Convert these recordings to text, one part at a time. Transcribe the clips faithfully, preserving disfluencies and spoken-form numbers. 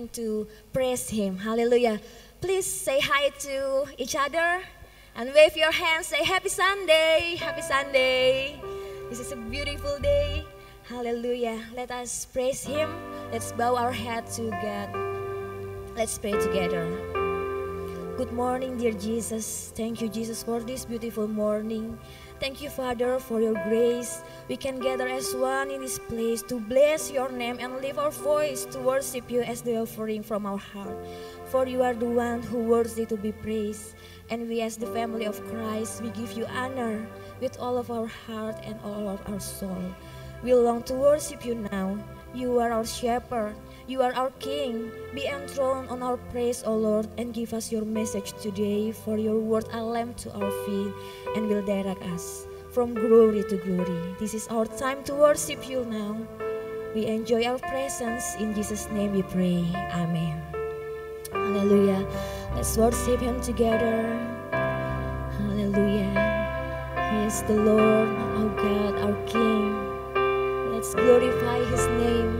time to praise Him. Hallelujah. Please say hi to each other and wave your hands. Say happy Sunday, happy Sunday. This is a beautiful day. Hallelujah. Let us praise Him. Let's bow our head to God. Let's pray together. Good morning, dear Jesus. Thank you, Jesus, for this beautiful morning. Thank you, Father, for your grace. We can gather as one in this place to bless your name and lift our voice to worship you as the offering from our heart. For you are the one who worthy to be praised. And we as the family of Christ, we give you honor with all of our heart and all of our soul. We long to worship you now. You are our shepherd. You are our King. Be enthroned on our praise, O Lord, and give us your message today. For your word a lamp to our feet and will direct us from glory to glory. This is our time to worship you now. We enjoy our presence. In Jesus' name we pray. Amen. Hallelujah. Let's worship Him together. Hallelujah. He is the Lord, our God, our King. Let's glorify His name.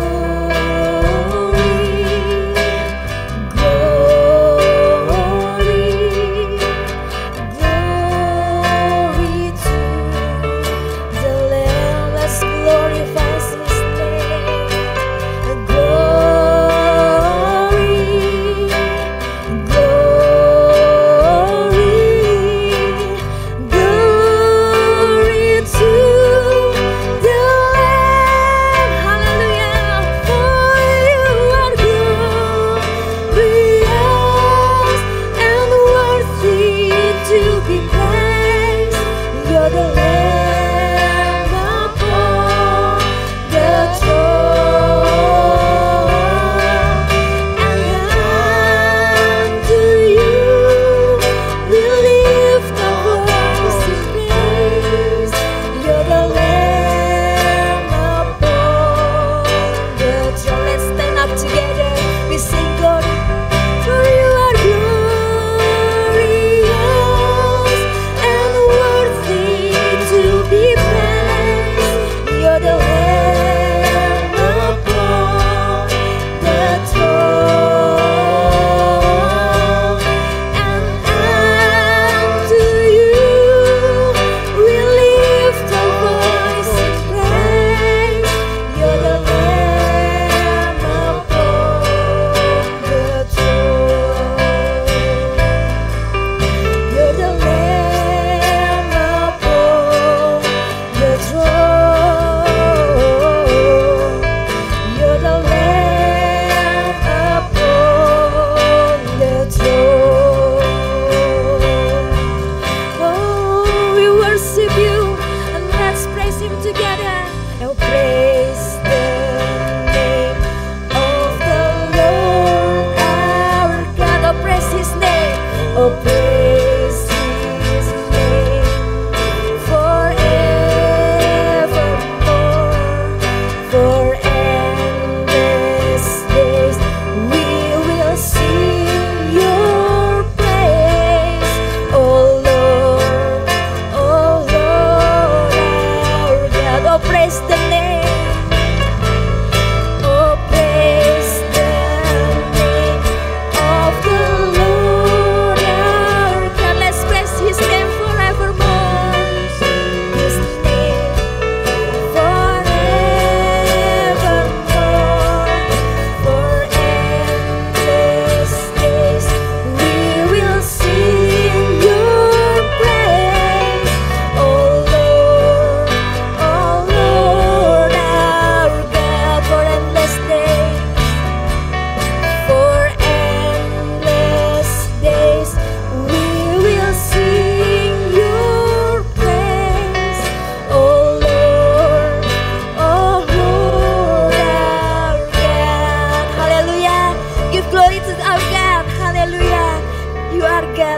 Glory,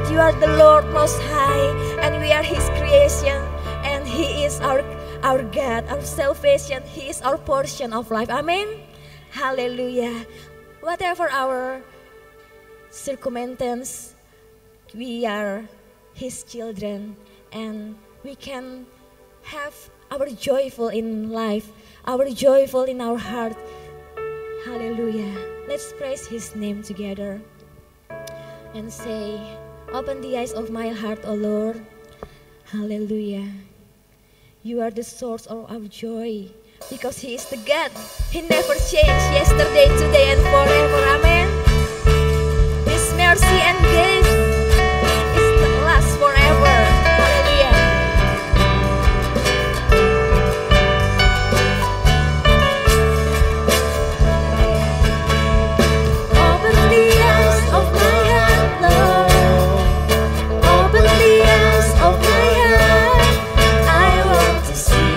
that you are the Lord Most High, and we are His creation, and He is our our God, our salvation. He is our portion of life. Amen. Hallelujah. Whatever our circumstance, we are His children, and we can have our joyful in life, our joyful in our heart. Hallelujah. Let's praise His name together and say, open the eyes of my heart, O Lord. Hallelujah. You are the source of our joy, because He is the God. He never changed, yesterday, today, and forever. Amen. His mercy and grace is the last forever. Hallelujah. Open the eyes of my heart, Lord. Open the eyes of my heart. I want to see.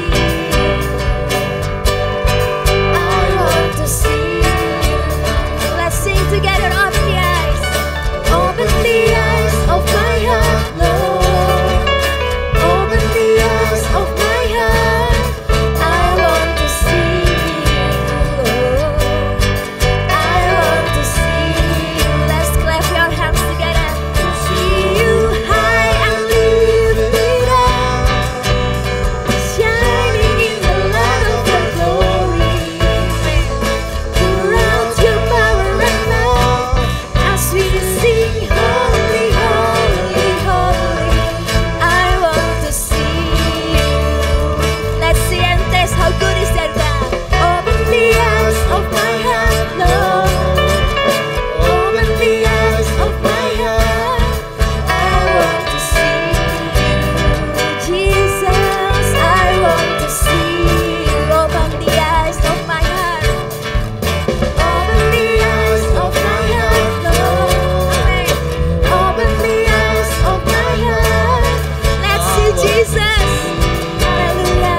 I want to see. Let's sing together. Open the eyes. Open the eyes of my heart, Lord. Open the eyes of my heart. I want to see you. I want to see you. Let's clap your hands together. See you high and lifted up, shining in the light of your glory. Pour out your power and love as we sing, holy, holy, holy. I want to see you. Let's see and taste how good is that God. Open the eyes of my heart, Lord. Open the eyes of my heart. I want to see you, Jesus. I want to see you. Open the eyes of my heart. Open the eyes of my heart, Lord. Amen. Open the eyes of my heart. Let's see Jesus. Hallelujah.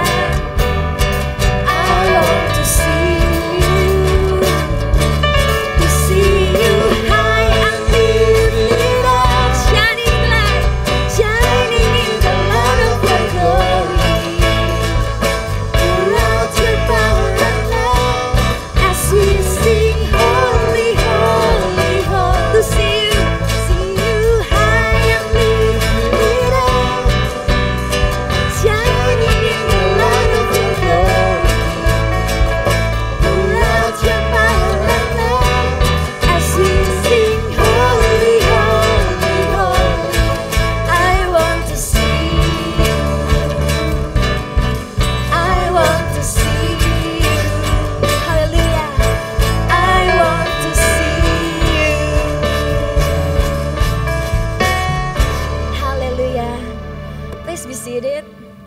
I want to see you. To see you high and lifted up, shining light, shining in the light of your glory. Pour out your power and love as we sing, holy, holy, holy. To see you, see you high and lifted up, shining in the light of your glory. Pour out your power and love as we sing, holy, holy, holy. I want to see you. I want to see you. Hallelujah. I want to see you. Hallelujah. Please be seated.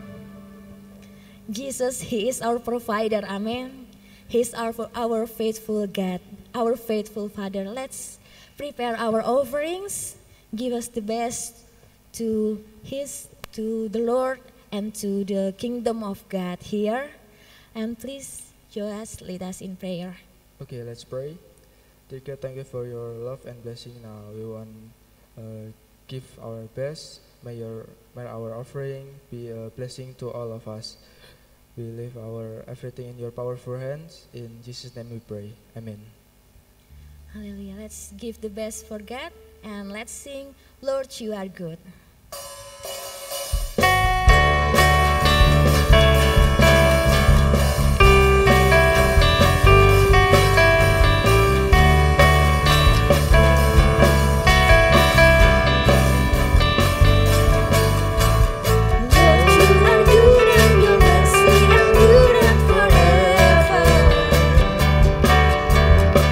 Jesus, He is our provider. Amen. He is our, our faithful God, our faithful Father. Let's prepare our offerings. Give us the best to His, to the Lord, and to the kingdom of God here. And please, Joas, lead us in prayer. Okay, let's pray. Dear God, thank you for your love and blessing. Now we want uh, give our best. May your may our offering be a blessing to all of us. We leave our everything in your powerful hands. In Jesus' name we pray. Amen. Hallelujah. Let's give the best for God, and let's sing, Lord, you are good.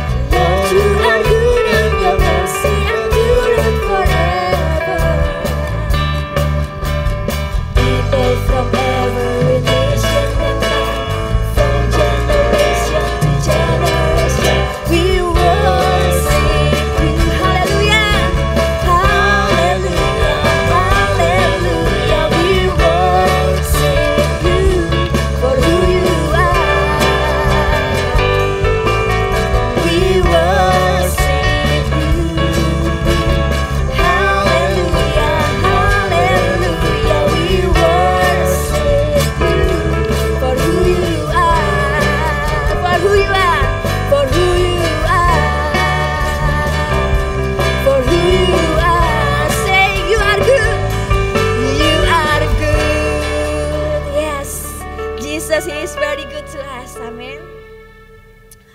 Lord, you are good and your mercy endureth forever.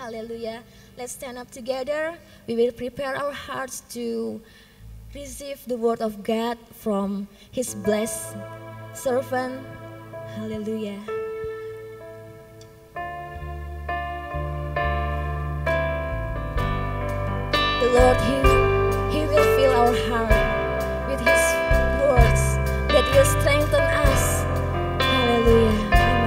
Hallelujah. Let's stand up together. We will prepare our hearts to receive the word of God from His blessed servant. Hallelujah. The Lord, He, He will fill our heart with His words that will strengthen us. Hallelujah.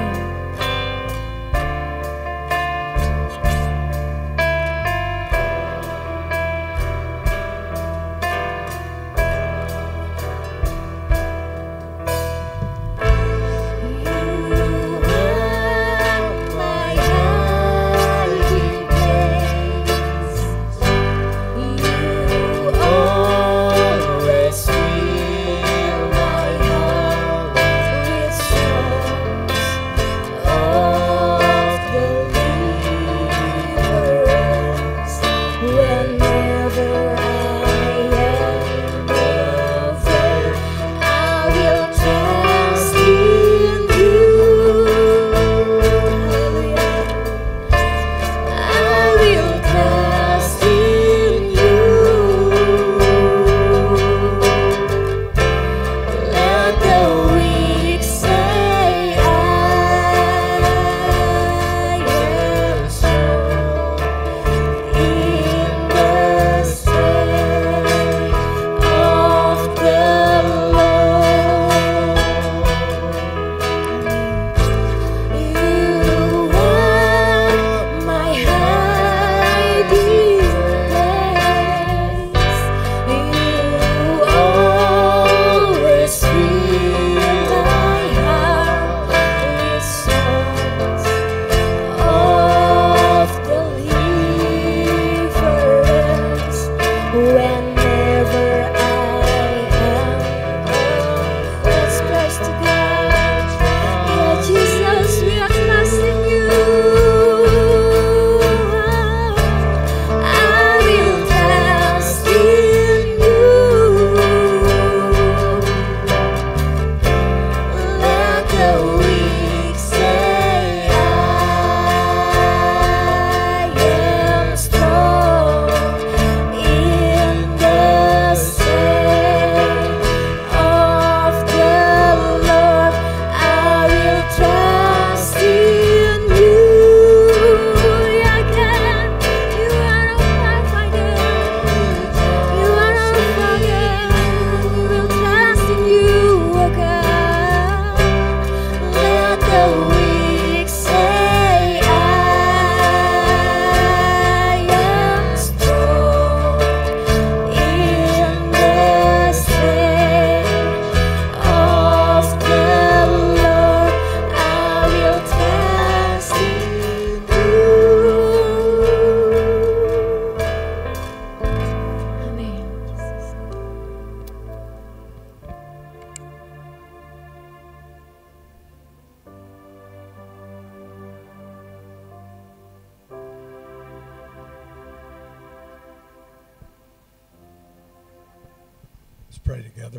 Pray together.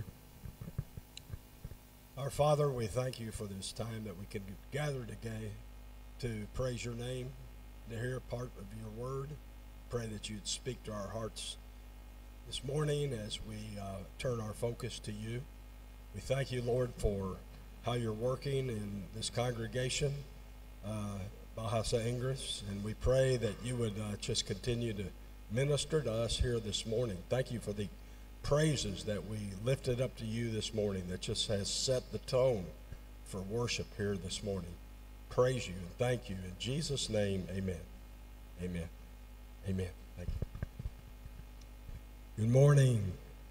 Our Father, we thank you for this time that we can gather today to praise your name, to hear a part of your word. Pray that you'd speak to our hearts this morning as we uh, turn our focus to you. We thank you, Lord, for how you're working in this congregation, uh, Bahasa Inggris, and we pray that you would uh, just continue to minister to us here this morning. Thank you for the praises that we lifted up to you this morning that just has set the tone for worship here this morning. Praise you and thank you. In Jesus' name, amen. Amen. Amen. Thank you. Good morning.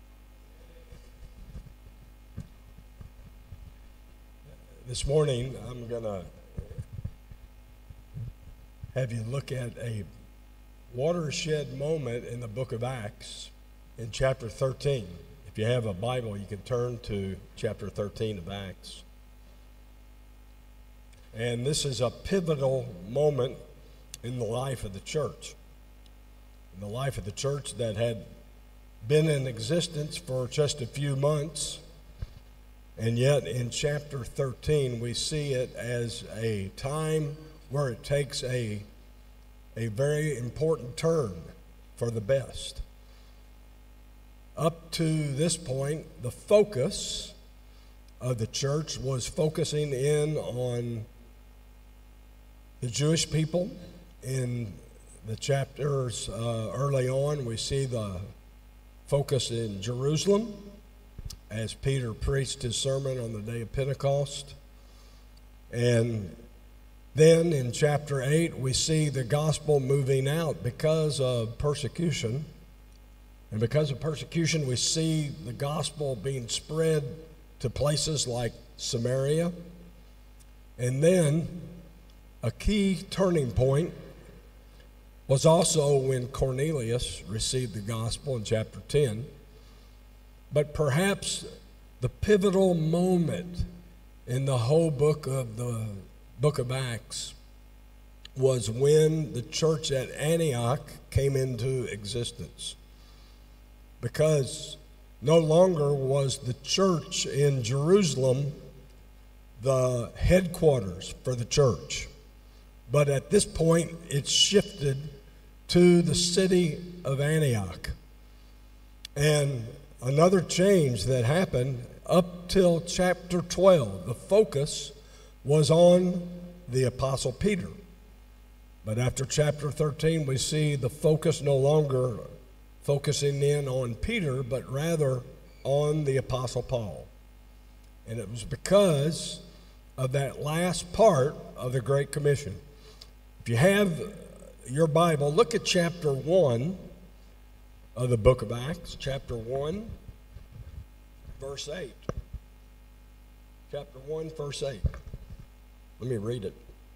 This morning, I'm going to have you look at a watershed moment in the book of Acts. In chapter thirteen, if you have a Bible, you can turn to chapter thirteen of Acts. And this is a pivotal moment in the life of the church. In the life of the church that had been in existence for just a few months. And yet in chapter thirteen, we see it as a time where it takes a a very important turn for the best. Up to this point, the focus of the church was focusing in on the Jewish people. In the chapters uh, early on, we see the focus in Jerusalem as Peter preached his sermon on the day of Pentecost. And then in chapter eight, we see the gospel moving out because of persecution. And because of persecution, we see the gospel being spread to places like Samaria. And then a key turning point was also when Cornelius received the gospel in chapter ten. But perhaps the pivotal moment in the whole book of the book of Acts was when the church at Antioch came into existence. Because no longer was the church in Jerusalem the headquarters for the church. But at this point, it shifted to the city of Antioch. And another change that happened up till chapter twelve, the focus was on the Apostle Peter. But after chapter thirteen, we see the focus no longer focusing in on Peter, but rather on the Apostle Paul. And it was because of that last part of the Great Commission. If you have your Bible, look at chapter one of the book of Acts, chapter one, verse eight. Chapter one, verse eight. Let me read it.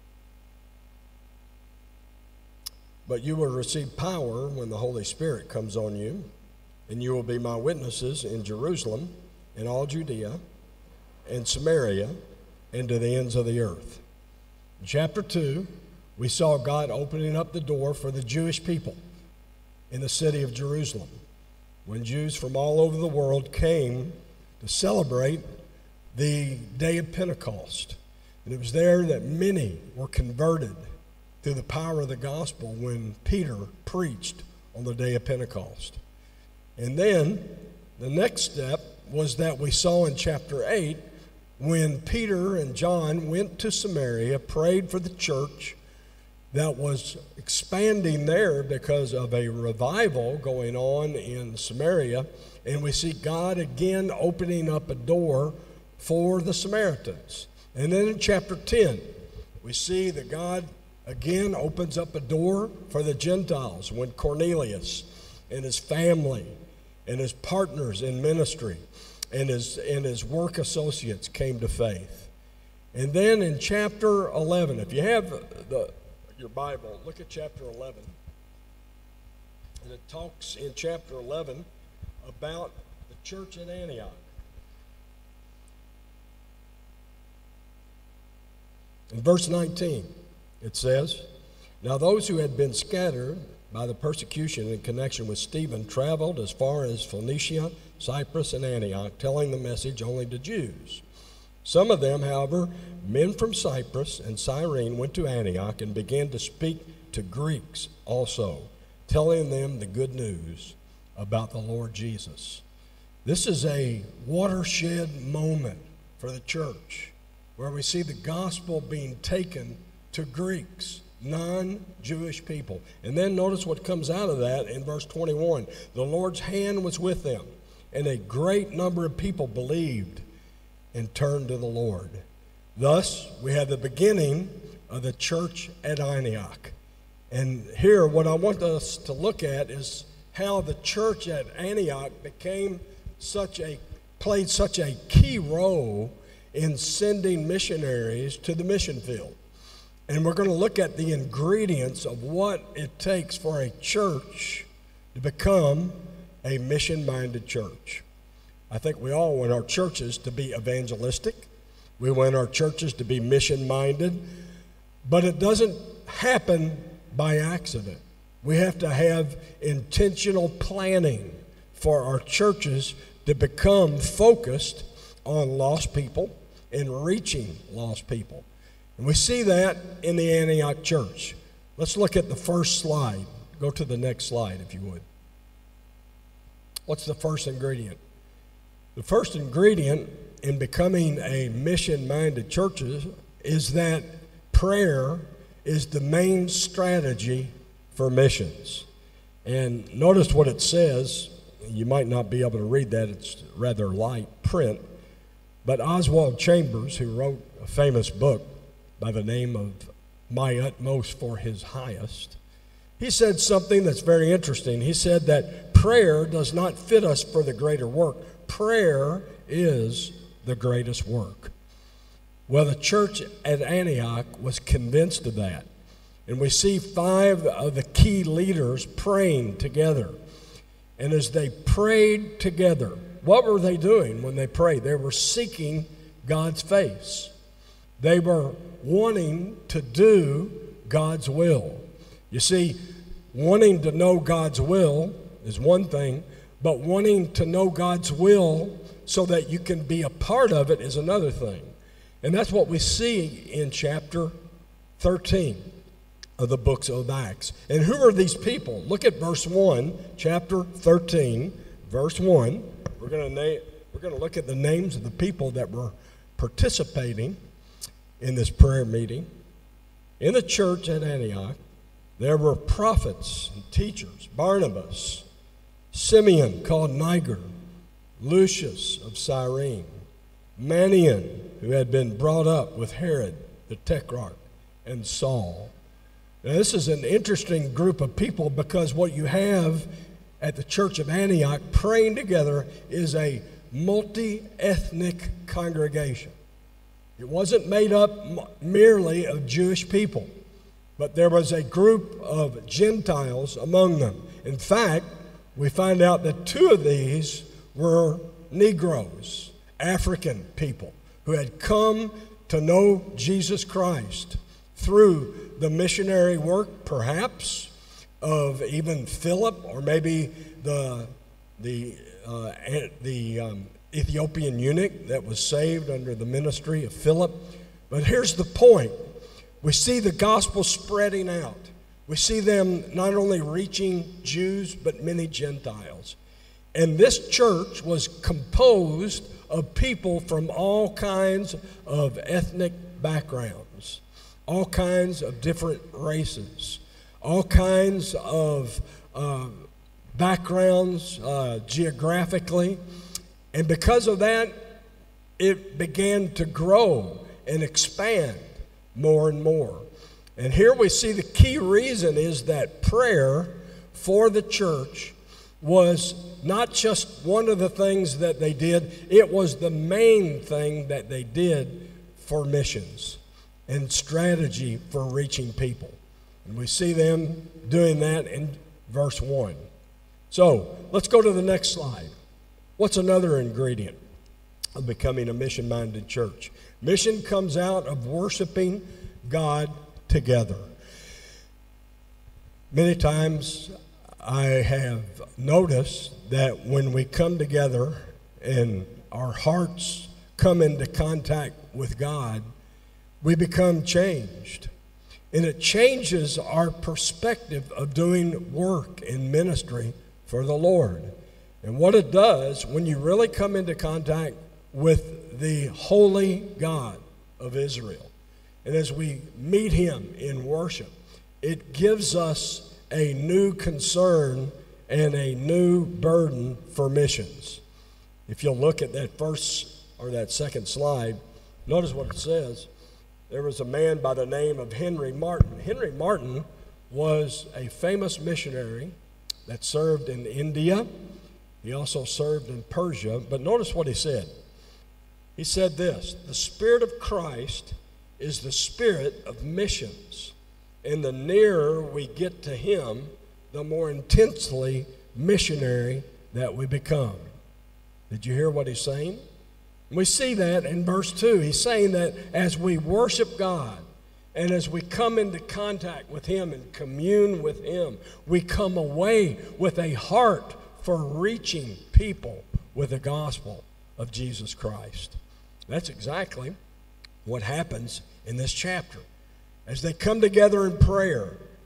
But you will receive power when the Holy Spirit comes on you, and you will be my witnesses in Jerusalem, in all Judea, and Samaria, and to the ends of the earth. In chapter two, we saw God opening up the door for the Jewish people in the city of Jerusalem, when Jews from all over the world came to celebrate the day of Pentecost. And it was there that many were converted through the power of the gospel when Peter preached on the day of Pentecost. And then the next step was that we saw in chapter eight when Peter and John went to Samaria, prayed for the church that was expanding there because of a revival going on in Samaria. And we see God again opening up a door for the Samaritans. And then in chapter ten, we see that God again opens up a door for the Gentiles when Cornelius and his family and his partners in ministry and his, and his work associates came to faith. And then in chapter eleven, if you have the, your Bible, look at chapter eleven. And it talks in chapter eleven about the church at Antioch. In verse nineteen, it says, now those who had been scattered by the persecution in connection with Stephen traveled as far as Phoenicia, Cyprus, and Antioch, telling the message only to Jews. Some of them, however, men from Cyprus and Cyrene, went to Antioch and began to speak to Greeks also, telling them the good news about the Lord Jesus. This is a watershed moment for the church, where we see the gospel being taken to Greeks, non-Jewish people. And then notice what comes out of that in verse twenty-one. The Lord's hand was with them, and a great number of people believed and turned to the Lord. Thus, we have the beginning of the church at Antioch. And here, what I want us to look at is how the church at Antioch became such a, played such a key role in sending missionaries to the mission field. And we're going to look at the ingredients of what it takes for a church to become a mission-minded church. I think we all want our churches to be evangelistic. We want our churches to be mission-minded. But it doesn't happen by accident. We have to have intentional planning for our churches to become focused on lost people and reaching lost people. And we see that in the Antioch church. Let's look at the first slide. Go to the next slide, if you would. What's the first ingredient? The first ingredient in becoming a mission-minded church is that prayer is the main strategy for missions. And notice what it says. You might not be able to read that. It's rather light print. But Oswald Chambers, who wrote a famous book by the name of My Utmost for His Highest, he said something that's very interesting. He said that prayer does not fit us for the greater work. Prayer is the greatest work. Well, the church at Antioch was convinced of that. And we see five of the key leaders praying together. And as they prayed together, what were they doing when they prayed? They were seeking God's face. They were wanting to do God's will. You see, wanting to know God's will is one thing, but wanting to know God's will so that you can be a part of it is another thing. And that's what we see in chapter thirteen of the books of Acts. And who are these people? Look at verse one, chapter thirteen, verse one. We're going to na- we're going to look at the names of the people that were participating in this prayer meeting. In the church at Antioch, there were prophets and teachers: Barnabas, Simeon called Niger, Lucius of Cyrene, Manaen, who had been brought up with Herod the Tetrarch, and Saul. Now, this is an interesting group of people because what you have at the church of Antioch praying together is a multi-ethnic congregation. It wasn't made up merely of Jewish people, but there was a group of Gentiles among them. In fact, we find out that two of these were Negroes, African people, who had come to know Jesus Christ through the missionary work, perhaps, of even Philip, or maybe the, the, uh, the um, Ethiopian eunuch that was saved under the ministry of Philip. But here's the point. We see the gospel spreading out. We see them not only reaching Jews, but many Gentiles. And this church was composed of people from all kinds of ethnic backgrounds, all kinds of different races, all kinds of uh, backgrounds uh, geographically. And because of that, it began to grow and expand more and more. And here we see the key reason is that prayer for the church was not just one of the things that they did, it was the main thing that they did for missions and strategy for reaching people. And we see them doing that in verse one. So let's go to the next slide. What's another ingredient of becoming a mission-minded church? Mission comes out of worshiping God together. Many times I have noticed that when we come together and our hearts come into contact with God, we become changed. And it changes our perspective of doing work in ministry for the Lord. And what it does, when you really come into contact with the holy God of Israel, and as we meet him in worship, it gives us a new concern and a new burden for missions. If you'll look at that first or that second slide, notice what it says. There was a man by the name of Henry Martyn. Henry Martyn was a famous missionary that served in India. He also served in Persia. But notice what he said. He said this: the Spirit of Christ is the spirit of missions. And the nearer we get to him, the more intensely missionary that we become. Did you hear what he's saying? We see that in verse two. He's saying that as we worship God and as we come into contact with him and commune with him, we come away with a heart for reaching people with the gospel of Jesus Christ. That's exactly what happens in this chapter. As they come together in prayer,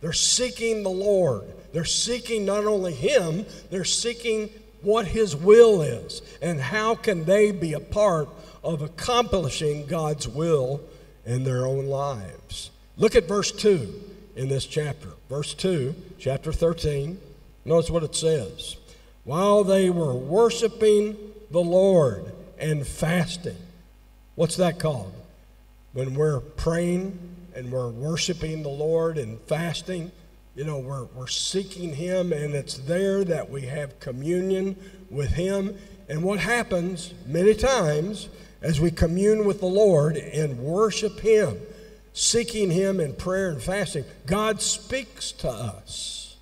They're seeking the Lord. They're seeking not only Him, they're seeking what His will is and how can they be a part of accomplishing God's will in their own lives. Look at verse two in this chapter. Verse two, chapter thirteen. Notice what it says. While they were worshiping the Lord and fasting. What's that called? When we're praying and we're worshiping the Lord and fasting, you know, we're, we're seeking Him, and it's there that we have communion with Him. And what happens many times as we commune with the Lord and worship Him, seeking Him in prayer and fasting, God speaks to us.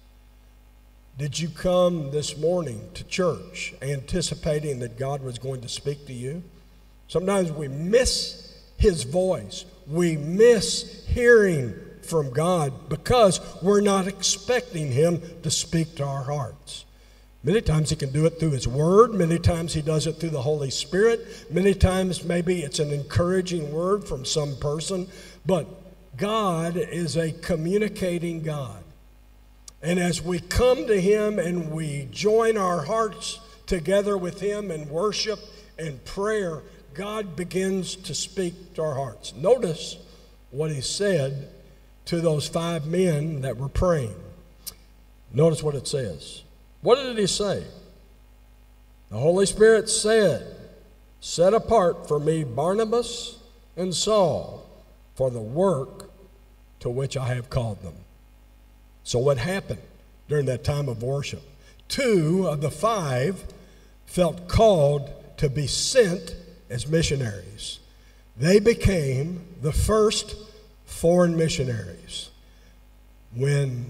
Did you come this morning to church anticipating that God was going to speak to you? Sometimes we miss His voice. We miss hearing from God because we're not expecting Him to speak to our hearts. Many times He can do it through His Word. Many times He does it through the Holy Spirit. Many times maybe it's an encouraging word from some person. But God is a communicating God. And as we come to Him and we join our hearts together with Him in worship and prayer, God begins to speak to our hearts. Notice what He said to those five men that were praying. Notice what it says. What did He say? The Holy Spirit said, "Set apart for me Barnabas and Saul for the work to which I have called them." So what happened during that time of worship? Two of the five felt called to be sent as missionaries. They became the first foreign missionaries. When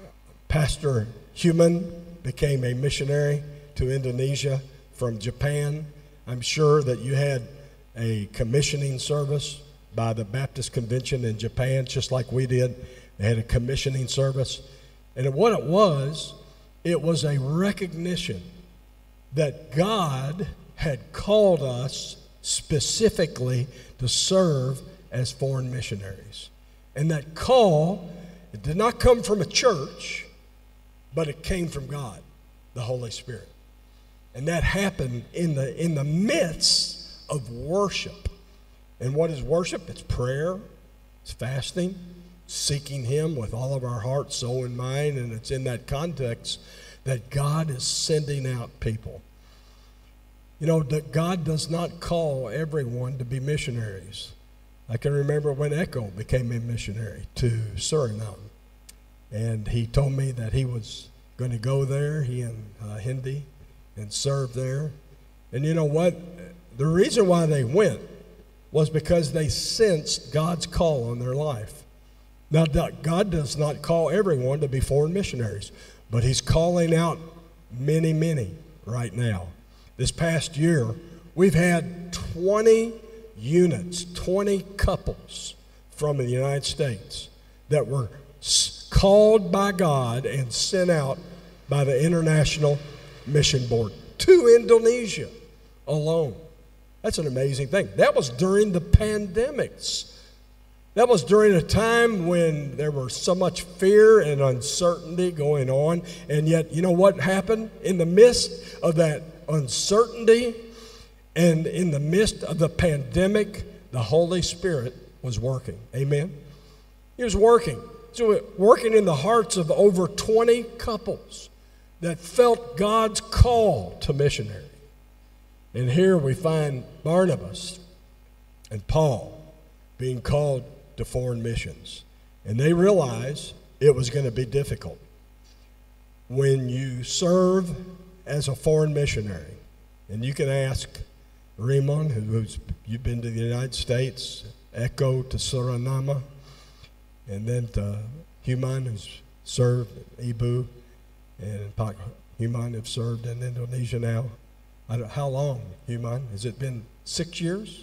Pastor Human became a missionary to Indonesia from Japan, I'm sure that you had a commissioning service by the Baptist Convention in Japan, just like we did. They had a commissioning service. And what it was, it was a recognition that God had called us specifically to serve as foreign missionaries. And that call, it did not come from a church, but it came from God, the Holy Spirit. And that happened in the in the midst of worship. And what is worship? It's prayer, it's fasting, seeking Him with all of our heart, soul, and mind. And it's in that context that God is sending out people. You know, that God does not call everyone to be missionaries. I can remember when Echo became a missionary to Suriname. And he told me that he was going to go there, he and uh, Hindi, and serve there. And you know what? The reason why they went was because they sensed God's call on their life. Now, God does not call everyone to be foreign missionaries, but He's calling out many, many right now. This past year, we've had twenty units, twenty couples from the United States that were called by God and sent out by the International Mission Board to Indonesia alone. That's an amazing thing. That was during the pandemics. That was during a time when there was so much fear and uncertainty going on. And yet, you know what happened? In the midst of that uncertainty and in the midst of the pandemic, the Holy Spirit was working. Amen? He was working. So working in the hearts of over twenty couples that felt God's call to missionary. And here we find Barnabas and Paul being called to foreign missions. And they realized it was going to be difficult. When you serve as a foreign missionary, and you can ask Raymond, who's you've been to the United States, Echo to Suriname, and then to Human, who's served Ibu, and Pak Human have served in Indonesia now. I don't, how long, Human? Has it been six years?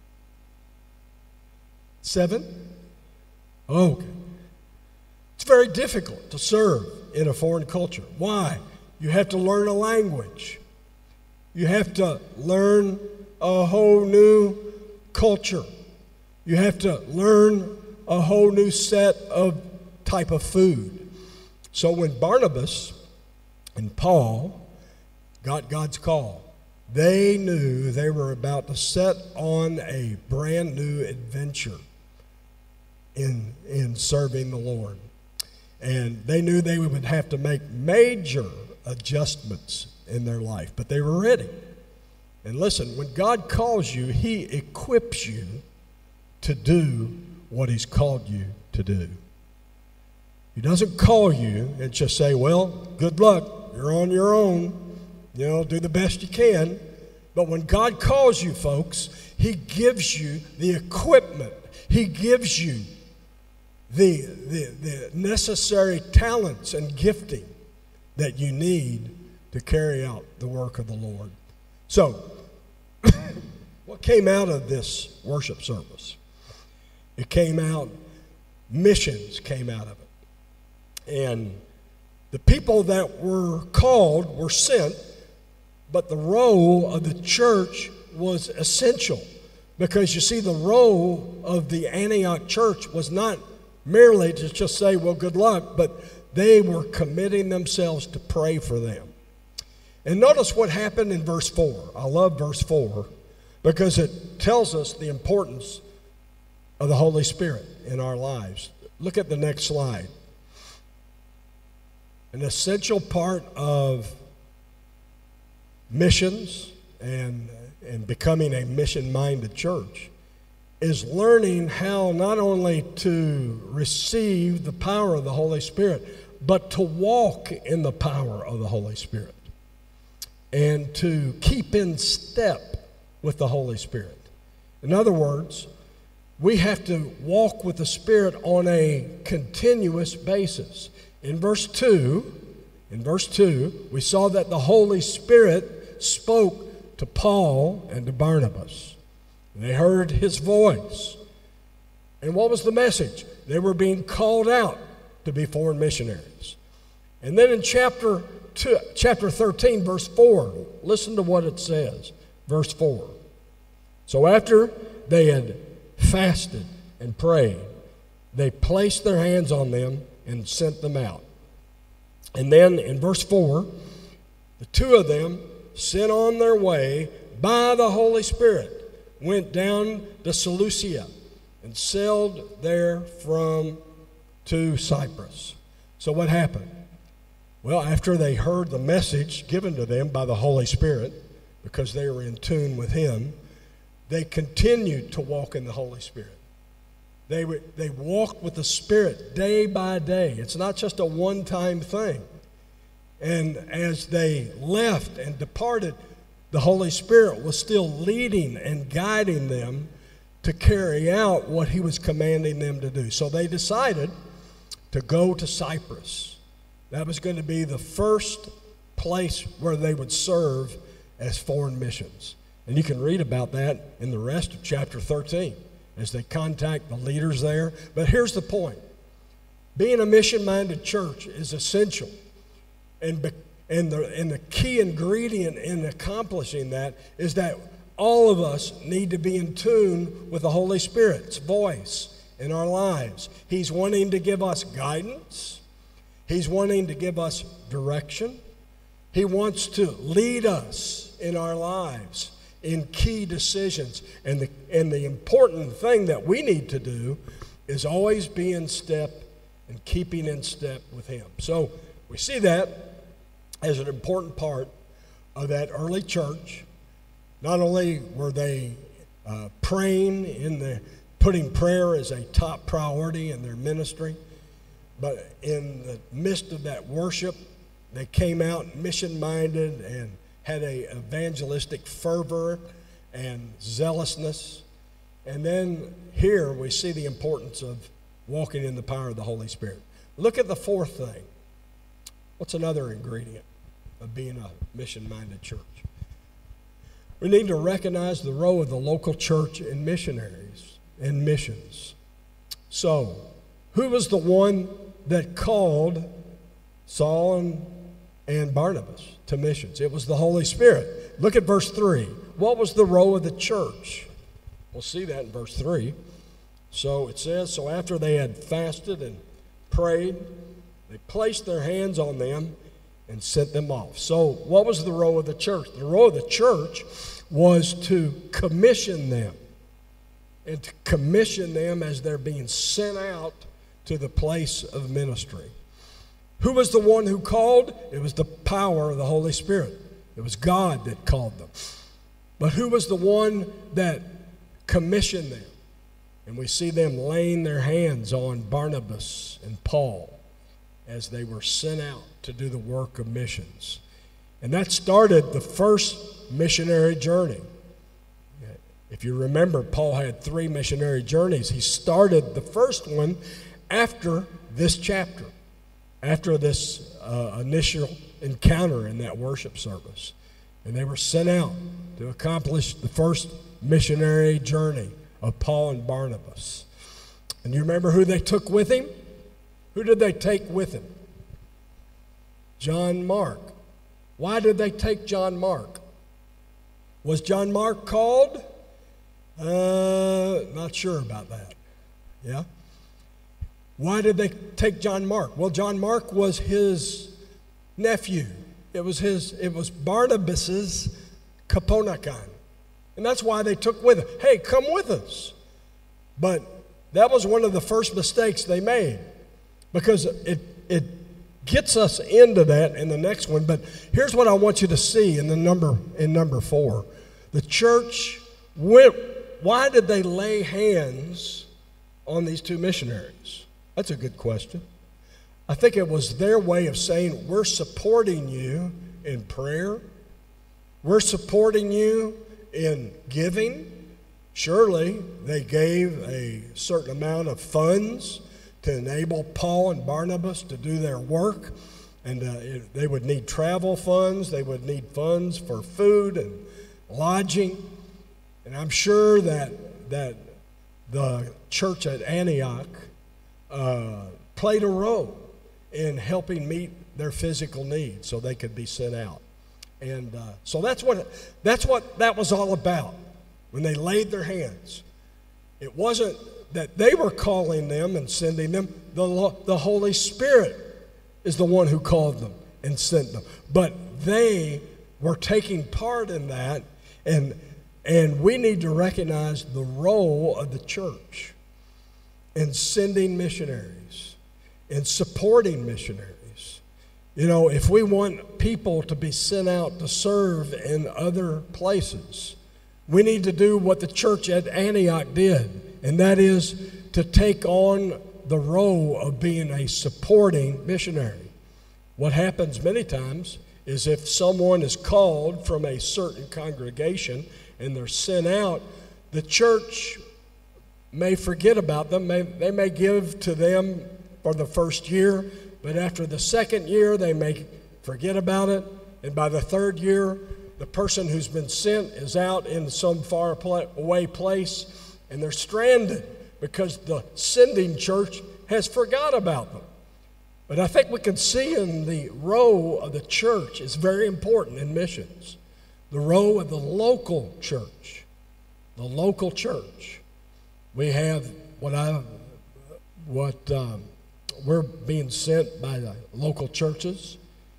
Seven? Oh, okay. It's very difficult to serve in a foreign culture. Why? You have to learn a language. You have to learn a whole new culture. You have to learn a whole new set of type of food. So when Barnabas and Paul got God's call, they knew they were about to set on a brand new adventure in, in serving the Lord. And they knew they would have to make major adjustments in their life, but they were ready. And listen, when God calls you, he equips you to do what he's called you to do. He doesn't call you and just say, well, good luck, you're on your own, you know, do the best you can. But when God calls you, folks, he gives you the equipment. He gives you the, the, the necessary talents and gifting that you need to carry out the work of the Lord. So, what came out of this worship service? It came out, missions came out of it. And the people that were called were sent, but the role of the church was essential. Because you see, the role of the Antioch church was not merely to just say, well, good luck, but they were committing themselves to pray for them. And notice what happened in verse four. I love verse four because it tells us the importance of the Holy Spirit in our lives. Look at the next slide. An essential part of missions and, and becoming a mission-minded church is learning how not only to receive the power of the Holy Spirit, but to walk in the power of the Holy Spirit and to keep in step with the Holy Spirit. In other words, we have to walk with the Spirit on a continuous basis. In verse two, in verse two, we saw that the Holy Spirit spoke to Paul and to Barnabas. They heard his voice. And what was the message? They were being called out to be foreign missionaries. And then in chapter two, chapter thirteen, verse four, listen to what it says. Verse four. So after they had fasted and prayed, they placed their hands on them and sent them out. And then in verse four, the two of them, sent on their way by the Holy Spirit, went down to Seleucia and sailed there from to Cyprus. So what happened? Well, after they heard the message given to them by the Holy Spirit, because they were in tune with him, they continued to walk in the Holy Spirit. They, they walked with the Spirit day by day. It's not just a one-time thing. And as they left and departed, the Holy Spirit was still leading and guiding them to carry out what he was commanding them to do. So they decided to go to Cyprus. That was going to be the first place where they would serve as foreign missions. And you can read about that in the rest of chapter thirteen as they contact the leaders there. But here's the point. Being a mission-minded church is essential. And, be, and, the, and the key ingredient in accomplishing that is that all of us need to be in tune with the Holy Spirit's voice in our lives. He's wanting to give us guidance. He's wanting to give us direction. He wants to lead us in our lives in key decisions. And the, and the important thing that we need to do is always be in step and keeping in step with him. So we see that as an important part of that early church. Not only were they uh, praying in the, putting prayer as a top priority in their ministry, but in the midst of that worship, they came out mission-minded and had a evangelistic fervor and zealousness. And then here we see the importance of walking in the power of the Holy Spirit. Look at the fourth thing. What's another ingredient of being a mission-minded church? We need to recognize the role of the local church in missionaries and missions. So, who was the one that called Saul and, and Barnabas to missions? It was the Holy Spirit. Look at verse three. What was the role of the church? We'll see that in verse three. So it says, so after they had fasted and prayed, they placed their hands on them, and sent them off. So what was the role of the church? The role of the church was to commission them, and to commission them as they're being sent out to the place of ministry. Who was the one who called? It was the power of the Holy Spirit. It was God that called them. But who was the one that commissioned them? And we see them laying their hands on Barnabas and Paul as they were sent out to do the work of missions. And that started the first missionary journey. If you remember, Paul had three missionary journeys. He started the first one after this chapter, after this uh, initial encounter in that worship service. And they were sent out to accomplish the first missionary journey of Paul and Barnabas. And you remember who they took with him? Who did they take with him? John Mark. Why did they take John Mark? Was John Mark called? Uh, not sure about that. Yeah? Why did they take John Mark? Well, John Mark was his nephew. It was his. It was Barnabas's Kaponakan. And that's why they took with him. Hey, come with us. But that was one of the first mistakes they made, because it it gets us into that in the next one. But here's what I want you to see in the number in number four. The church went. Why did they lay hands on these two missionaries? That's a good question. I think it was their way of saying, we're supporting you in prayer. We're supporting you in giving. Surely they gave a certain amount of funds to enable Paul and Barnabas to do their work. And uh, it, they would need travel funds. They would need funds for food and lodging. And I'm sure that, that the church at Antioch uh, played a role in helping meet their physical needs so they could be sent out. And uh, so that's what, that's what that was all about when they laid their hands. It wasn't that they were calling them and sending them. The, the Holy Spirit is the one who called them and sent them. But they were taking part in that, and And we need to recognize the role of the church in sending missionaries, in supporting missionaries. You know, if we want people to be sent out to serve in other places, we need to do what the church at Antioch did, and that is to take on the role of being a supporting missionary. What happens many times is if someone is called from a certain congregation and they're sent out, the church may forget about them. May, they may give to them for the first year, but after the second year, they may forget about it. And by the third year, the person who's been sent is out in some far away place, and they're stranded because the sending church has forgot about them. But I think we can see in the role of the church is very important in missions. The role of the local church, the local church. We have what I, what um, we're being sent by the local churches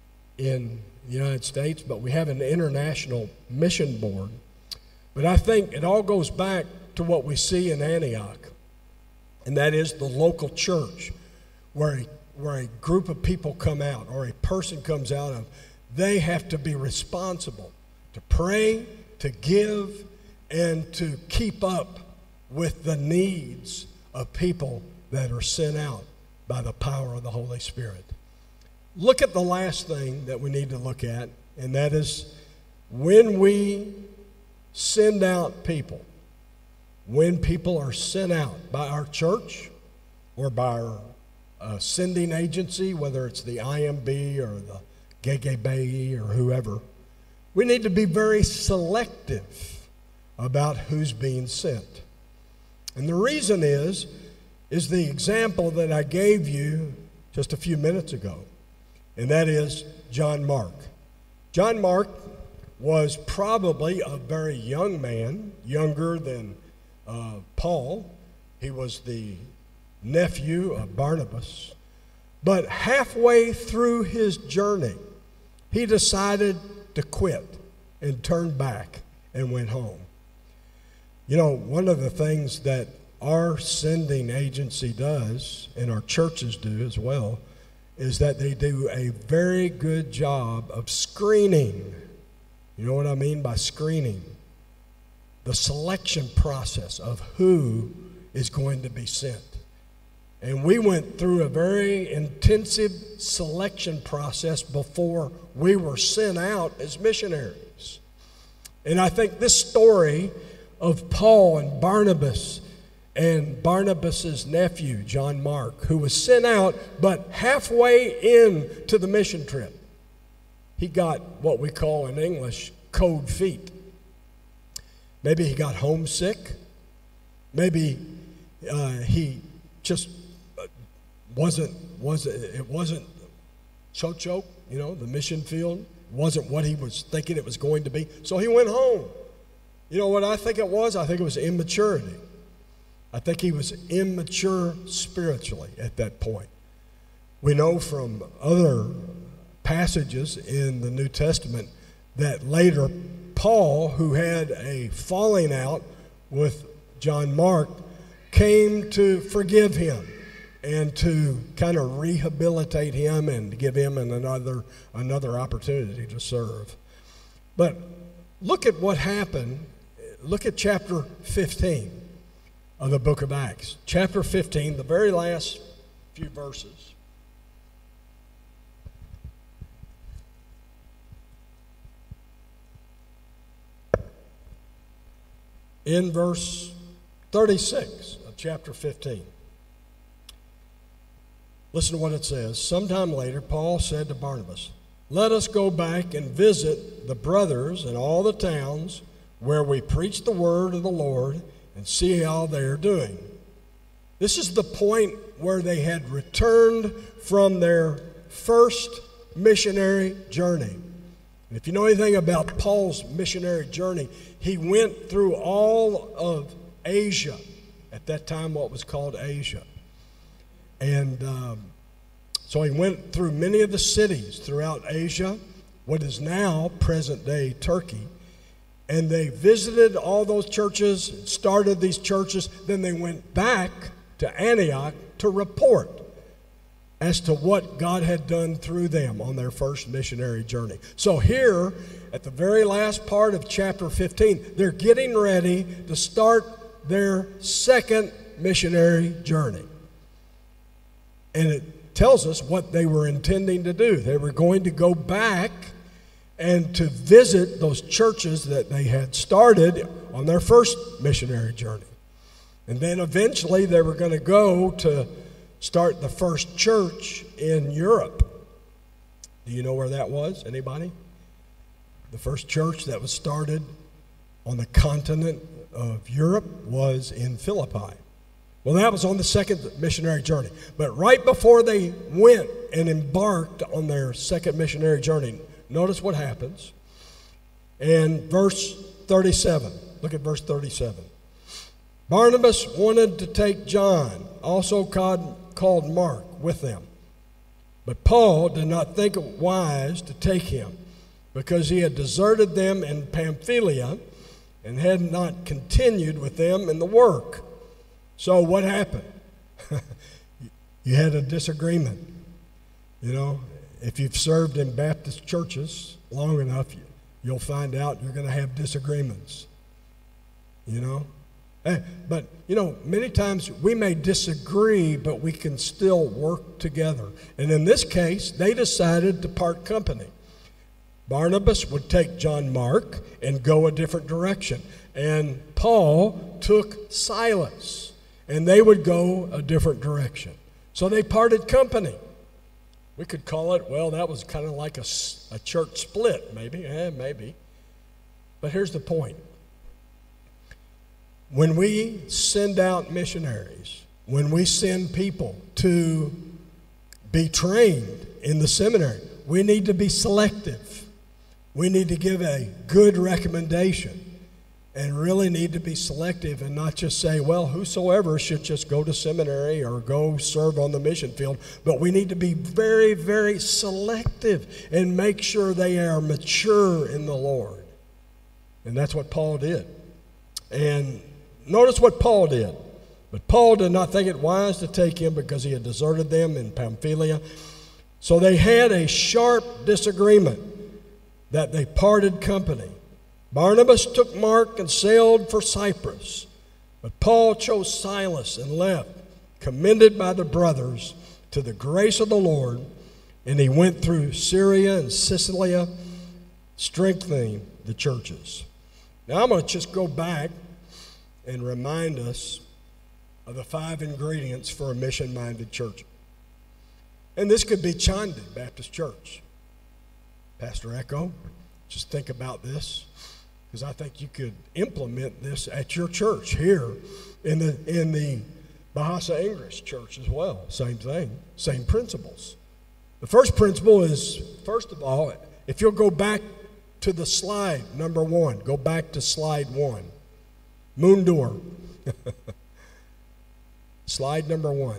in the United States, but we have an international mission board. But I think it all goes back to what we see in Antioch, and that is the local church, where a, where a group of people come out or a person comes out of, they have to be responsible to pray, to give, and to keep up with the needs of people that are sent out by the power of the Holy Spirit. Look at the last thing that we need to look at, and that is when we send out people, when people are sent out by our church or by our uh, sending agency, whether it's the I M B or the G G B or whoever, we need to be very selective about who's being sent. And the reason is, is the example that I gave you just a few minutes ago, and that is John Mark. John Mark was probably a very young man, younger than uh, Paul. He was the nephew of Barnabas. But halfway through his journey, he decided to quit and turned back and went home. You know, one of the things that our sending agency does, and our churches do as well, is that they do a very good job of screening. You know what I mean by screening? The selection process of who is going to be sent. And we went through a very intensive selection process before we were sent out as missionaries. And I think this story of Paul and Barnabas and Barnabas's nephew, John Mark, who was sent out, but halfway into the mission trip, he got what we call in English cold feet. Maybe he got homesick. Maybe uh, he just wasn't, wasn't, it wasn't chocho, you know, the mission field. Wasn't what he was thinking it was going to be. So he went home. You know what I think it was? I think it was immaturity. I think he was immature spiritually at that point. We know from other passages in the New Testament that later Paul, who had a falling out with John Mark, came to forgive him and to kind of rehabilitate him and to give him another, another opportunity to serve. But look at what happened. Look at chapter fifteen of the book of Acts. Chapter fifteen, the very last few verses. In verse thirty-six of chapter fifteen. Listen to what it says. Sometime later, Paul said to Barnabas, "Let us go back and visit the brothers in all the towns where we preach the word of the Lord and see how they are doing." This is the point where they had returned from their first missionary journey. And if you know anything about Paul's missionary journey, he went through all of Asia, at that time what was called Asia. And um, so he went through many of the cities throughout Asia, what is now present-day Turkey. And they visited all those churches, started these churches. Then they went back to Antioch to report as to what God had done through them on their first missionary journey. So here, at the very last part of chapter fifteen, they're getting ready to start their second missionary journey. And it tells us what they were intending to do. They were going to go back and to visit those churches that they had started on their first missionary journey. And then eventually they were going to go to start the first church in Europe. Do you know where that was? Anybody? The first church that was started on the continent of Europe was in Philippi. Well, that was on the second missionary journey. But right before they went and embarked on their second missionary journey, notice what happens. In verse thirty-seven, look at verse thirty-seven. Barnabas wanted to take John, also called, called Mark, with them. But Paul did not think it wise to take him, because he had deserted them in Pamphylia and had not continued with them in the work. So what happened? You had a disagreement. You know, if you've served in Baptist churches long enough, you, you'll find out you're going to have disagreements. You know? But, you know, many times we may disagree, but we can still work together. And in this case, they decided to part company. Barnabas would take John Mark and go a different direction. And Paul took Silas, and they would go a different direction. So they parted company. We could call it, well, that was kind of like a, a church split, maybe. Eh, maybe. But here's the point. When we send out missionaries, when we send people to be trained in the seminary, we need to be selective. We need to give a good recommendation. and really need to be selective and not just say, well, whosoever should just go to seminary or go serve on the mission field. But we need to be very, very selective and make sure they are mature in the Lord. And that's what Paul did. And notice what Paul did. But Paul did not think it wise to take him because he had deserted them in Pamphylia. So they had a sharp disagreement that they parted company. Barnabas took Mark and sailed for Cyprus, but Paul chose Silas and left, commended by the brothers to the grace of the Lord, and he went through Syria and Cilicia, strengthening the churches. Now I'm going to just go back and remind us of the five ingredients for a mission-minded church. And this could be Chandi Baptist Church. Pastor Echo, just think about this, because I think you could implement this at your church here in the in the Bahasa English church as well. Same thing, same principles. The first principle is, first of all, if you'll go back to the slide, number one, go back to slide one. Mundur. Slide number one.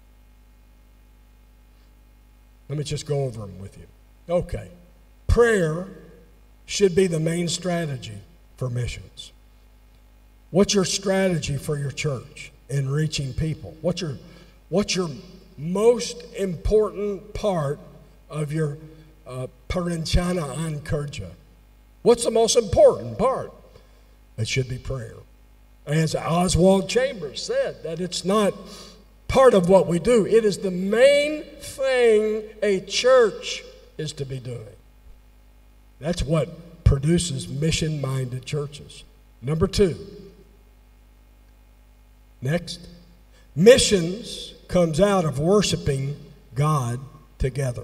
Let me just go over them with you. Okay. Prayer should be the main strategy for missions. What's your strategy for your church in reaching people? What's your, what's your most important part of your uh, perencana an kerja? What's the most important part? It should be prayer. As Oswald Chambers said, that it's not part of what we do. It is the main thing a church is to be doing. That's what produces mission-minded churches. Number two. Next. Missions comes out of worshiping God together.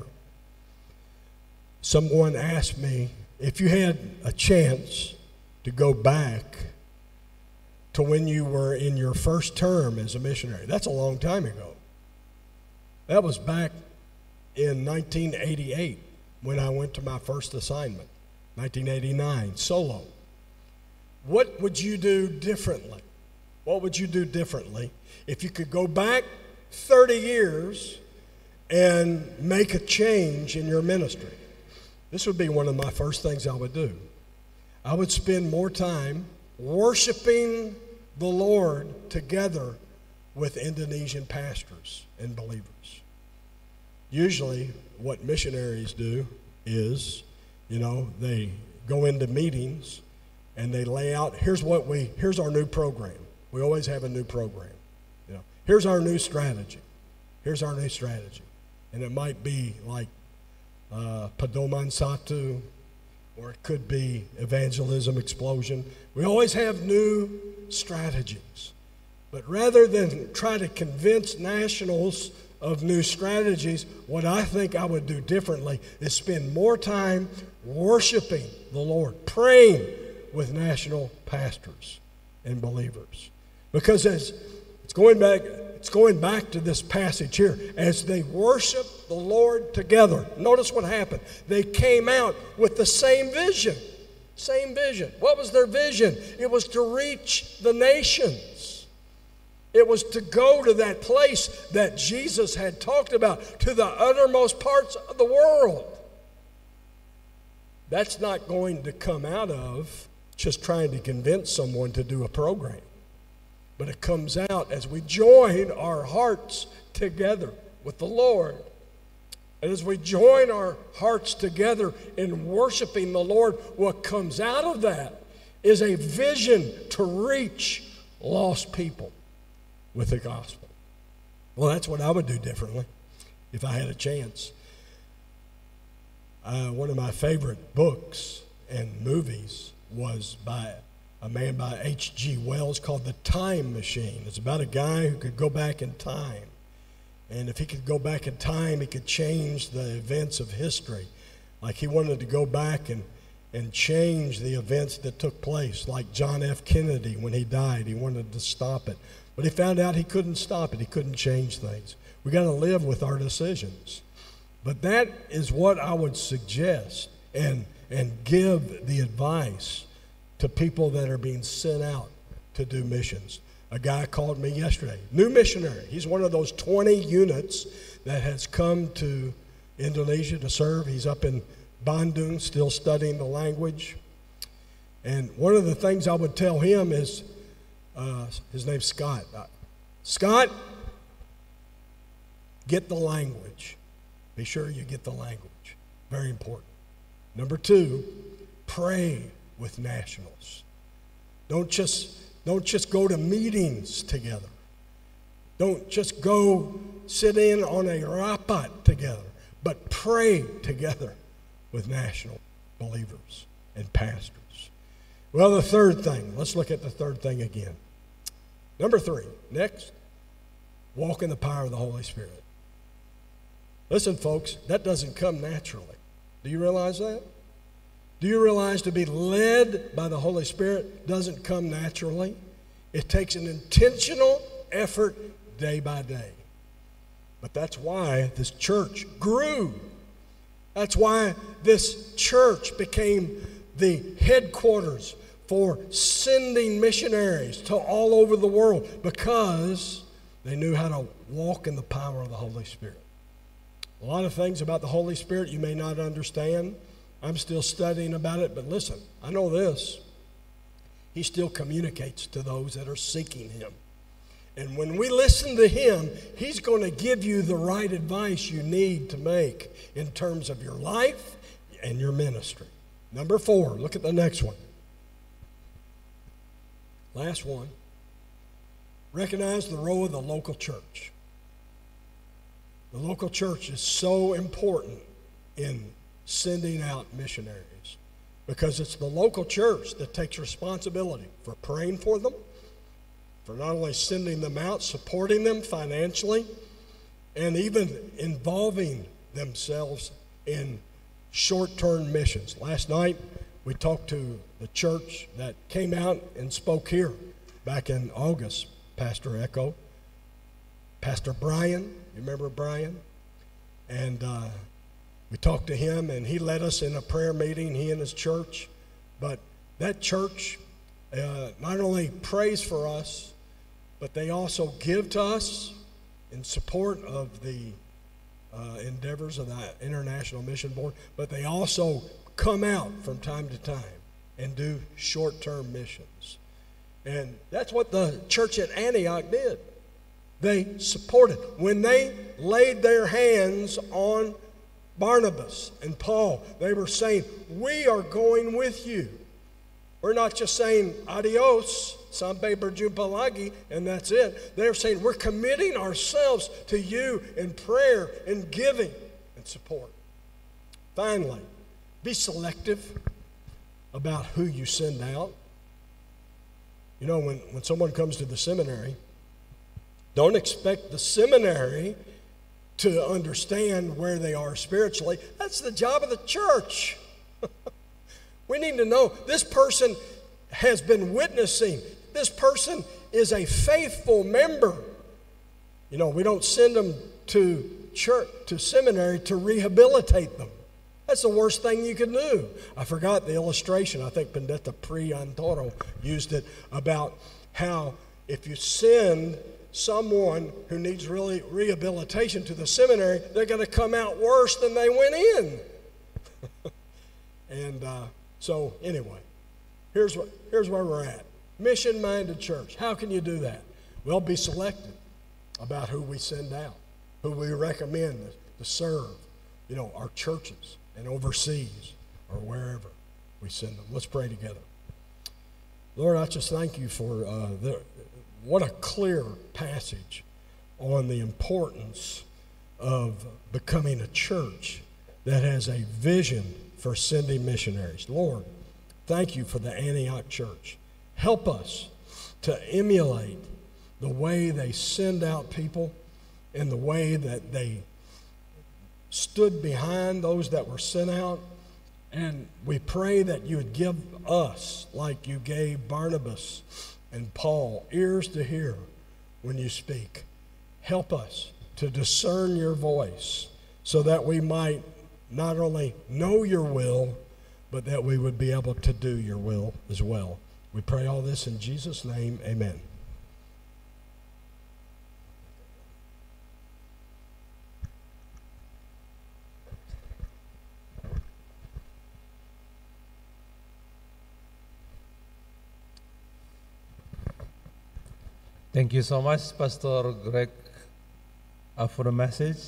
Someone asked me, if you had a chance to go back to when you were in your first term as a missionary. That's a long time ago. That was back in nineteen eighty-eight when I went to my first assignment, nineteen eighty-nine, solo. What would you do differently? What would you do differently if you could go back thirty years and make a change in your ministry? This would be one of my first things I would do. I would spend more time worshiping the Lord together with Indonesian pastors and believers. Usually what missionaries do is, you know, they go into meetings and they lay out, here's what we, here's our new program. We always have a new program. You know, here's our new strategy. Here's our new strategy. And it might be like uh, Pedoman Satu, or it could be Evangelism Explosion. We always have new strategies. But rather than try to convince nationals of new strategies, what I think I would do differently is spend more time worshiping the Lord, praying with national pastors and believers. Because as it's going back, it's going back to this passage here, as they worship the Lord together. Notice what happened. They came out with the same vision. Same vision. What was their vision? It was to reach the nations. It was to go to that place that Jesus had talked about, to the uttermost parts of the world. That's not going to come out of just trying to convince someone to do a program. But it comes out as we join our hearts together with the Lord. And as we join our hearts together in worshiping the Lord, what comes out of that is a vision to reach lost people with the gospel. Well, that's what I would do differently if I had a chance. Uh, one of my favorite books and movies was by a man by H G Wells called The Time Machine. It's about a guy who could go back in time. And if he could go back in time, he could change the events of history. Like he wanted to go back and, and change the events that took place. Like John F. Kennedy, when he died, he wanted to stop it. But he found out he couldn't stop it. He couldn't change things. We got to live with our decisions. But that is what I would suggest and, and give the advice to people that are being sent out to do missions. A guy called me yesterday, new missionary. He's one of those twenty units that has come to Indonesia to serve. He's up in Bandung, still studying the language. And one of the things I would tell him is, uh, his name's Scott. Uh, Scott, get the language. Be sure you get the language. Very important. Number two, pray with nationals. Don't just, don't just go to meetings together. Don't just go sit in on a rapat together, but pray together with national believers and pastors. Well, the third thing, let's look at the third thing again. Number three, next, walk in the power of the Holy Spirit. Listen, folks, that doesn't come naturally. Do you realize that? Do you realize to be led by the Holy Spirit doesn't come naturally? It takes an intentional effort day by day. But that's why this church grew. That's why this church became the headquarters for sending missionaries to all over the world, because they knew how to walk in the power of the Holy Spirit. A lot of things about the Holy Spirit you may not understand. I'm still studying about it, but listen, I know this. He still communicates to those that are seeking him. And when we listen to him, he's going to give you the right advice you need to make in terms of your life and your ministry. Number four, look at the next one. Last one. Recognize the role of the local church. The local church is so important in sending out missionaries, because it's the local church that takes responsibility for praying for them, for not only sending them out, supporting them financially, and even involving themselves in short-term missions. Last night, we talked to the church that came out and spoke here back in August, Pastor Echo, Pastor Brian, you remember Brian? And uh, we talked to him, and he led us in a prayer meeting, he and his church. But that church uh, not only prays for us, but they also give to us in support of the uh, endeavors of the International Mission Board, but they also come out from time to time and do short-term missions. And that's what the church at Antioch did. They supported. When they laid their hands on Barnabas and Paul, they were saying, we are going with you. We're not just saying adios, sampai berjumpa lagi, and that's it. They're saying we're committing ourselves to you in prayer and giving and support. Finally, be selective about who you send out. You know, when, when someone comes to the seminary, don't expect the seminary to understand where they are spiritually. That's the job of the church. We need to know this person has been witnessing. This person is a faithful member. You know, we don't send them to church, to seminary to rehabilitate them. That's the worst thing you could do. I forgot the illustration. I think Pendeta Priantoro used it about how if you send someone who needs really rehabilitation to the seminary, they're going to come out worse than they went in. and uh, so anyway, here's what here's where we're at. Mission-minded church. How can you do that? Well, be selective about who we send out, who we recommend to serve, you know, our churches and overseas or wherever we send them. Let's pray together. Lord, I just thank you for uh, the, what a clear passage on the importance of becoming a church that has a vision for sending missionaries. Lord, thank you for the Antioch church. Help us to emulate the way they send out people and the way that they stood behind those that were sent out. And we pray that you would give us, like you gave Barnabas and Paul, ears to hear when you speak. Help us to discern your voice so that we might not only know your will, but that we would be able to do your will as well. We pray all this in Jesus' name, amen. Thank you so much, Pastor Greg, uh, for the message.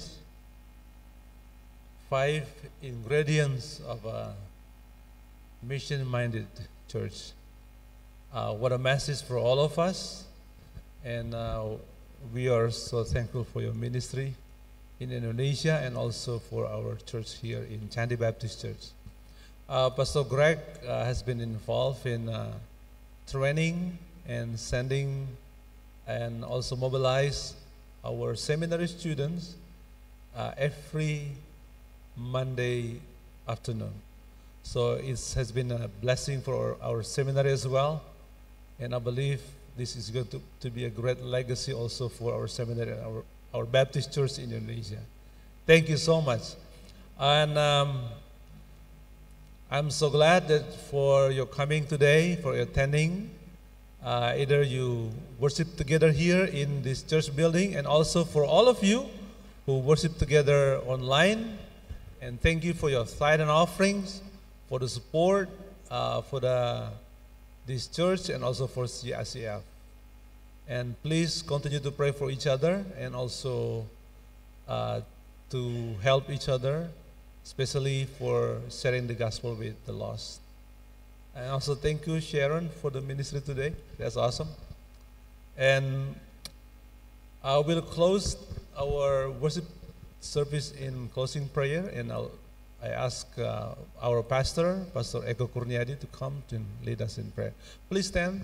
Five ingredients of a mission-minded church. Uh, what a message for all of us. And uh, we are so thankful for your ministry in Indonesia and also for our church here in Candi Baptist Church. Uh, Pastor Greg uh, has been involved in uh, training and sending and also mobilize our seminary students uh, every Monday afternoon. So it has been a blessing for our, our seminary as well, and I believe this is going to, to be a great legacy also for our seminary and our, our Baptist church in Indonesia. Thank you so much. And um, I'm so glad that for your coming today, for your attending. Uh, either you worship together here in this church building, and also for all of you who worship together online. And thank you for your tithe and offerings, for the support uh, for the this church and also for C I C F. And please continue to pray for each other and also uh, to help each other, especially for sharing the gospel with the lost. And also thank you, Sharon, for the ministry today. That's awesome. And I will close our worship service in closing prayer, and I'll, I ask uh, our pastor, Pastor Eko Kurniadi, to come to lead us in prayer. Please stand.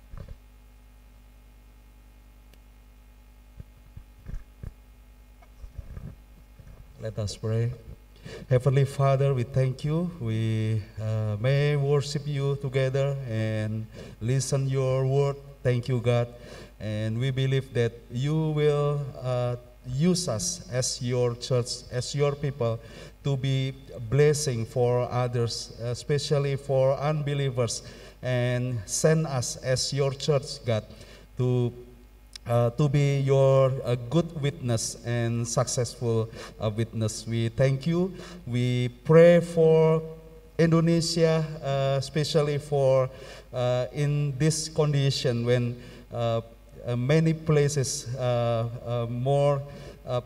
Let us pray. Heavenly Father, we thank you. We uh, may worship you together and listen your word. Thank you, God. And we believe that you will uh, use us as your church, as your people, to be a blessing for others, especially for unbelievers, and send us as your church, God, to Uh, to be your uh, good witness and successful uh, witness. We thank you. We pray for Indonesia, uh, especially for uh, in this condition when uh, uh, many places uh, uh, more uh,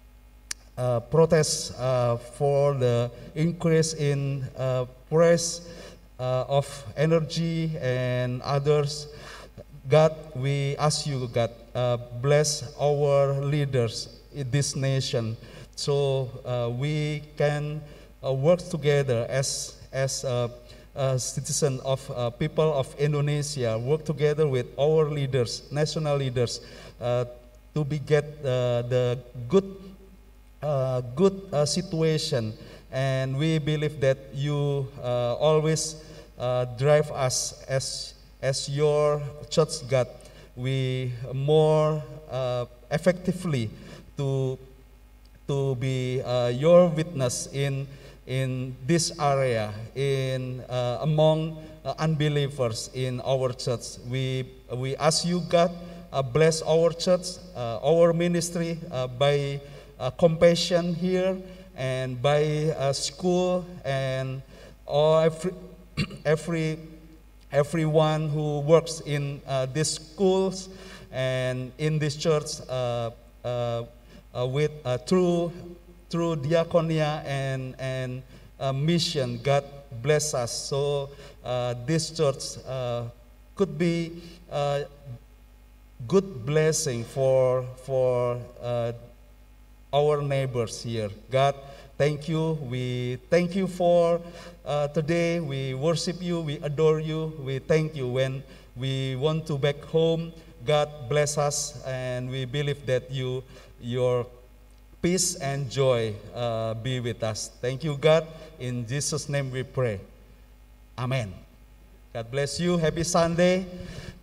uh, protests uh, for the increase in uh, price uh, of energy and others. God, we ask you, God, uh, bless our leaders in this nation, so uh, we can uh, work together as as uh, uh, citizens of uh, people of Indonesia, work together with our leaders, national leaders, uh, to be get uh, the good uh, good uh, situation. And we believe that you uh, always uh, drive us as As your church, God, we more uh, effectively to to be uh, your witness in in this area, in uh, among uh, unbelievers in our church. We we ask you, God, uh, bless our church, uh, our ministry uh, by uh, compassion here and by uh, school and all every every. everyone who works in uh, these schools and in this church uh, uh, uh, with uh, through through diaconia and and uh, mission. God bless us, so uh, this church uh, could be uh, good blessing for for uh, our neighbors here. God, thank you. We thank you for uh, today. We worship you. We adore you. We thank you when we want to back home. God bless us, and we believe that you, your peace and joy uh, be with us. Thank you, God. In Jesus' name we pray. Amen. God bless you. Happy Sunday.